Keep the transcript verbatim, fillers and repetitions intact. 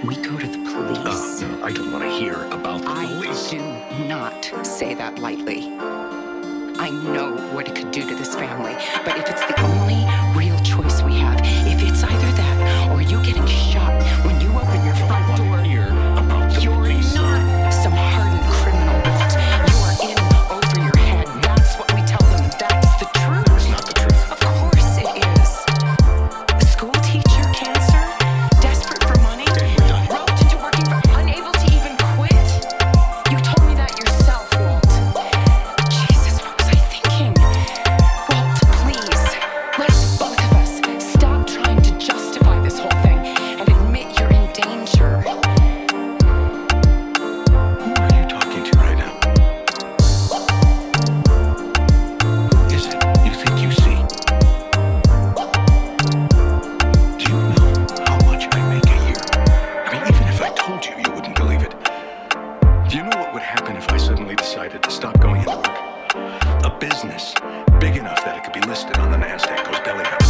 we go to the police. Oh, no, I don't want to hear about the I police. do not say that lightly. I know what it could do to this family, but if it's the only real choice we have, if it's either that or you getting shot when you open your front I door, want to hear about the you're police. not some hardened criminal. Walt. You are in over your head. That's what we tell them. That's the truth. It's not the truth. Of course it is. A school teacher, cancer, desperate for money, Okay, we're done. roped into working for, unable to even quit. You told me that yourself, Walt. Jesus, what was I thinking? Walt, please, let's both of us stop trying to justify this whole thing and admit you're in danger. Who are you talking to right now? Who is it you think you see? Do you know how much I make a year? I mean, even if I told you, you wouldn't believe it. Do you know what would happen if I suddenly decided to stop going into work? A business big enough that it could be listed on the NASDAQ goes belly up.